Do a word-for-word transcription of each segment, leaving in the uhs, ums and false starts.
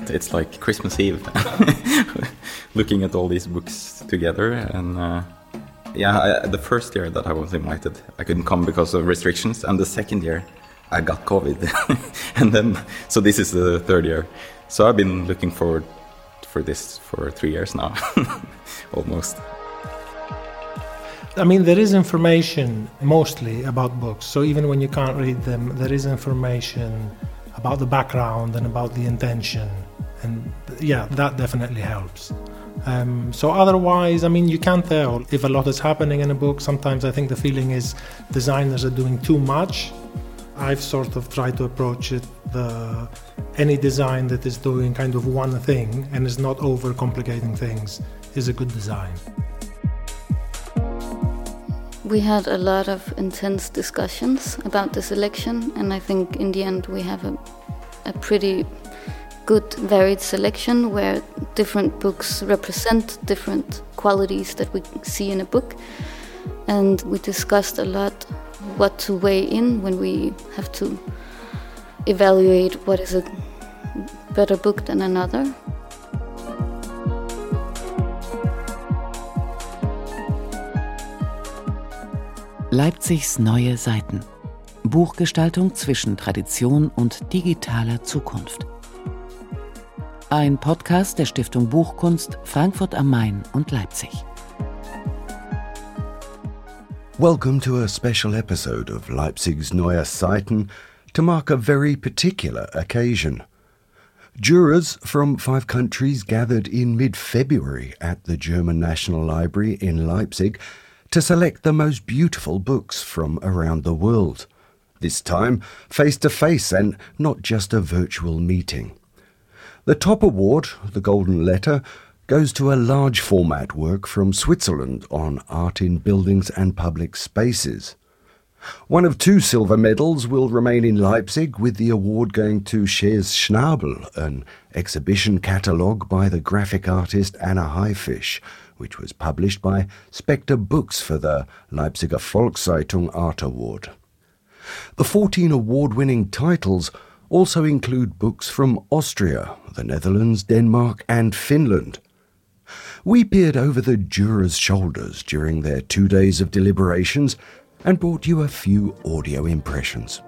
It's like Christmas Eve, looking at all these books together. And uh, yeah, I, the first year that I was invited, I couldn't come because of restrictions. And the second year, I got COVID. And then, so this is the third year. So I've been looking forward for this for three years now, almost. I mean, there is information mostly about books. So even when you can't read them, there is information about the background and about the intention. And yeah, that definitely helps. Um, so otherwise, I mean, you can't tell if a lot is happening in a book. Sometimes I think the feeling is designers are doing too much. I've sort of tried to approach it, the, any design that is doing kind of one thing and is not overcomplicating things is a good design. We had a lot of intense discussions about the selection, and I think in the end we have a, a pretty good varied selection where different books represent different qualities that we see in a book. And we discussed a lot what to weigh in when we have to evaluate what is a better book than another. Leipzigs neue Seiten. Buchgestaltung zwischen Tradition und digitaler Zukunft. Ein Podcast der Stiftung Buchkunst Frankfurt am Main und Leipzig. Welcome to a special episode of Leipzig's Neue Seiten to mark a very particular occasion. Jurors from five countries gathered in mid-February at the German National Library in Leipzig to select the most beautiful books from around the world. This time, face-to-face and not just a virtual meeting. The top award, the Golden Letter, goes to a large format work from Switzerland on art in buildings and public spaces. One of two silver medals will remain in Leipzig, with the award going to Shares Schnabel, an exhibition catalogue by the graphic artist Anna Haifisch, which was published by Spectre Books for the Leipziger Volkszeitung Art Award. The fourteen award-winning titles also include books from Austria, the Netherlands, Denmark and Finland. We peered over the jurors' shoulders during their two days of deliberations and brought you a few audio impressions.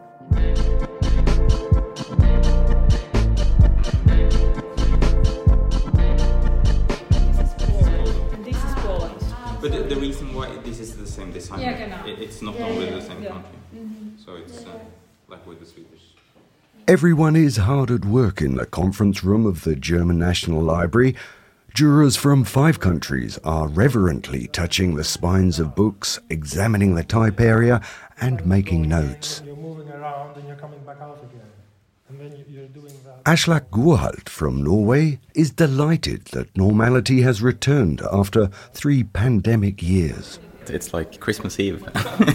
But the, the reason why this is the same design, yeah, genau. it, it's not yeah, only yeah, the same yeah. country. Mm-hmm. So it's uh, like with the Swedish. Everyone is hard at work in the conference room of the German National Library. Jurors from five countries are reverently touching the spines of books, examining the type area and making notes. You're moving around and you're coming back out again. And then you're doing that. Aslak Gurhalt from Norway is delighted that normality has returned after three pandemic years. It's like Christmas Eve,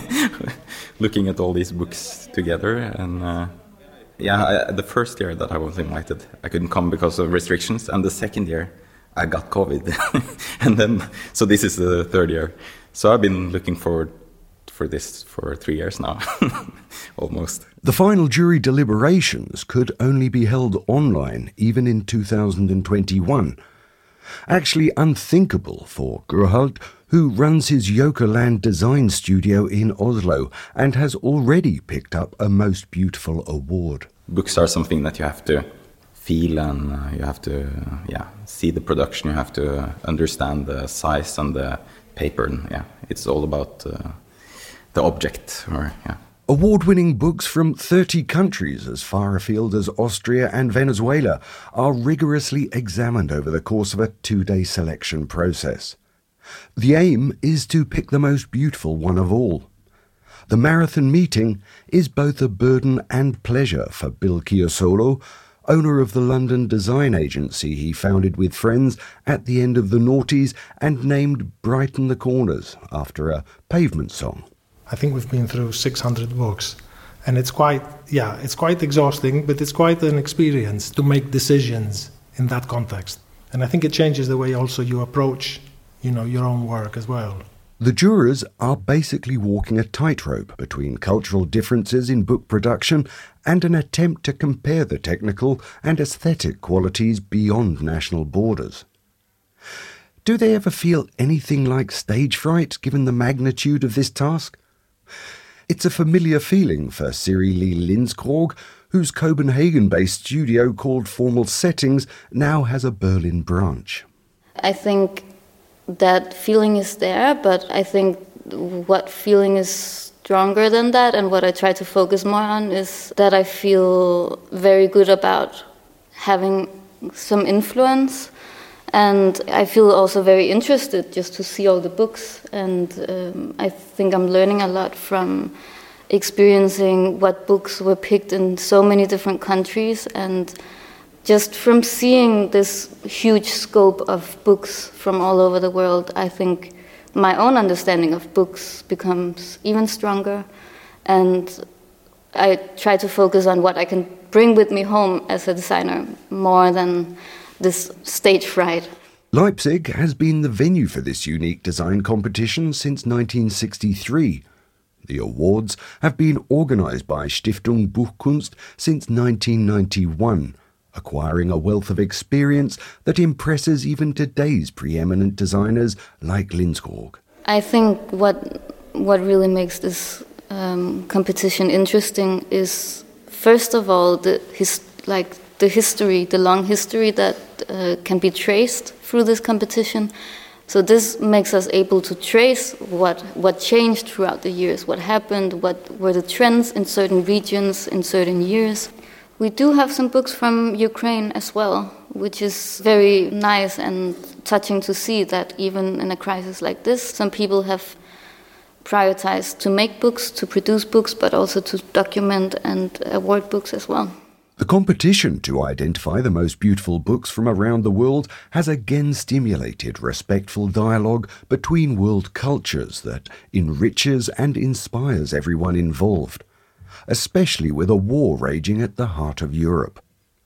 looking at all these books together. And uh, yeah, I, the first year that I was invited, I couldn't come because of restrictions. And the second year, I got COVID. And then, so this is the third year. So I've been looking forward for this for three years now, almost. The final jury deliberations could only be held online, even in two thousand twenty-one. Actually unthinkable for Gurhalt, who runs his Jokerland design studio in Oslo and has already picked up a Most Beautiful award. Books are something that you have to feel, and uh, you have to uh, yeah see the production. You have to uh, understand the size and the paper. And, yeah, it's all about uh, the object. Or yeah. Award-winning books from thirty countries as far afield as Austria and Venezuela are rigorously examined over the course of a two-day selection process. The aim is to pick the most beautiful one of all. The marathon meeting is both a burden and pleasure for Bill Chiosolo, owner of the London design agency he founded with friends at the end of the noughties and named Brighten the Corners after a Pavement song. I think we've been through six hundred books, and it's quite, yeah, it's quite exhausting, but it's quite an experience to make decisions in that context. And I think it changes the way also you approach, you know, your own work as well. The jurors are basically walking a tightrope between cultural differences in book production and an attempt to compare the technical and aesthetic qualities beyond national borders. Do they ever feel anything like stage fright given the magnitude of this task? It's a familiar feeling for Siri Lee Lindskrog, whose Copenhagen-based studio called Formal Settings now has a Berlin branch. I think that feeling is there, but I think what feeling is stronger than that and what I try to focus more on is that I feel very good about having some influence, and I feel also very interested just to see all the books, and um, I think I'm learning a lot from experiencing what books were picked in so many different countries, and just from seeing this huge scope of books from all over the world, I think my own understanding of books becomes even stronger, and I try to focus on what I can bring with me home as a designer more than this stage fright. Leipzig has been the venue for this unique design competition since nineteen sixty-three. The awards have been organised by Stiftung Buchkunst since nineteen ninety-one, acquiring a wealth of experience that impresses even today's preeminent designers like Lindskrog. I think what what really makes this um, competition interesting is, first of all, the his, like the history, the long history that uh, can be traced through this competition. So this makes us able to trace what what changed throughout the years, what happened, what were the trends in certain regions in certain years. We do have some books from Ukraine as well, which is very nice and touching to see that even in a crisis like this, some people have prioritized to make books, to produce books, but also to document and award books as well. The competition to identify the most beautiful books from around the world has again stimulated respectful dialogue between world cultures that enriches and inspires everyone involved, especially with a war raging at the heart of Europe.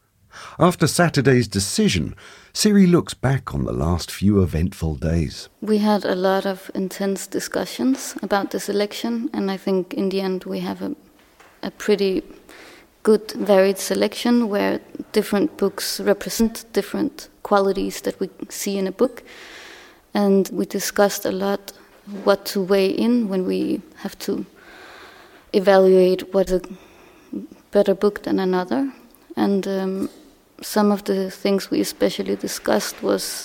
After Saturday's decision, Siri looks back on the last few eventful days. We had a lot of intense discussions about this election, and I think in the end we have a, a pretty good varied selection where different books represent different qualities that we see in a book. And we discussed a lot what to weigh in when we have to evaluate what's a better book than another. And um, some of the things we especially discussed was,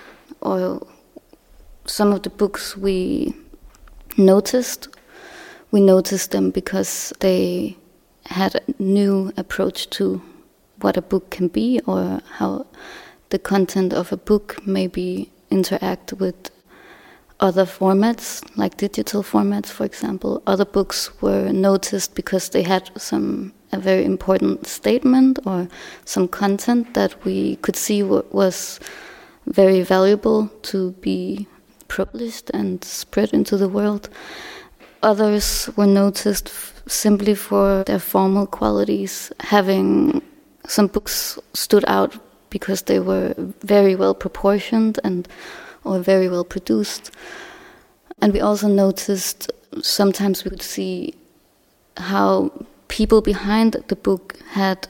or some of the books we noticed, we noticed them because they had a new approach to what a book can be, or how the content of a book maybe interact with other formats, like digital formats, for example. Other books were noticed because they had some a very important statement or some content that we could see w- was very valuable to be published and spread into the world. Others were noticed f- simply for their formal qualities. Having some books stood out because they were very well proportioned and or very well produced. And we also noticed sometimes we could see how people behind the book had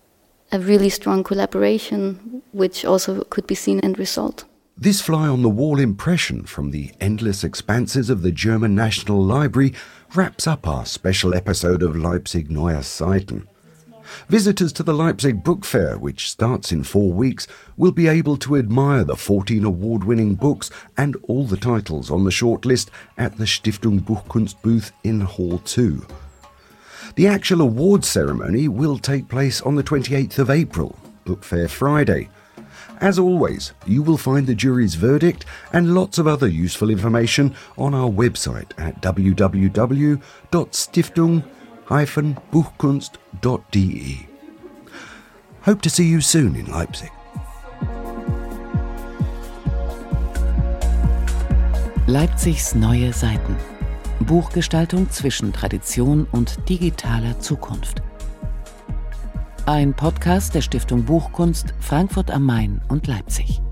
a really strong collaboration, which also could be seen in result. This fly-on-the-wall impression from the endless expanses of the German National Library wraps up our special episode of Leipzig Neue Seiten. Visitors to the Leipzig Book Fair, which starts in four weeks, will be able to admire the fourteen award-winning books and all the titles on the shortlist at the Stiftung Buchkunst booth in Hall two. The actual awards ceremony will take place on the twenty-eighth of April, Book Fair Friday. As always, you will find the jury's verdict and lots of other useful information on our website at w w w dot stiftung dash buchkunst dot d e. Hope to see you soon in Leipzig. Leipzigs neue Seiten. Buchgestaltung zwischen Tradition und digitaler Zukunft. Ein Podcast der Stiftung Buchkunst Frankfurt am Main und Leipzig.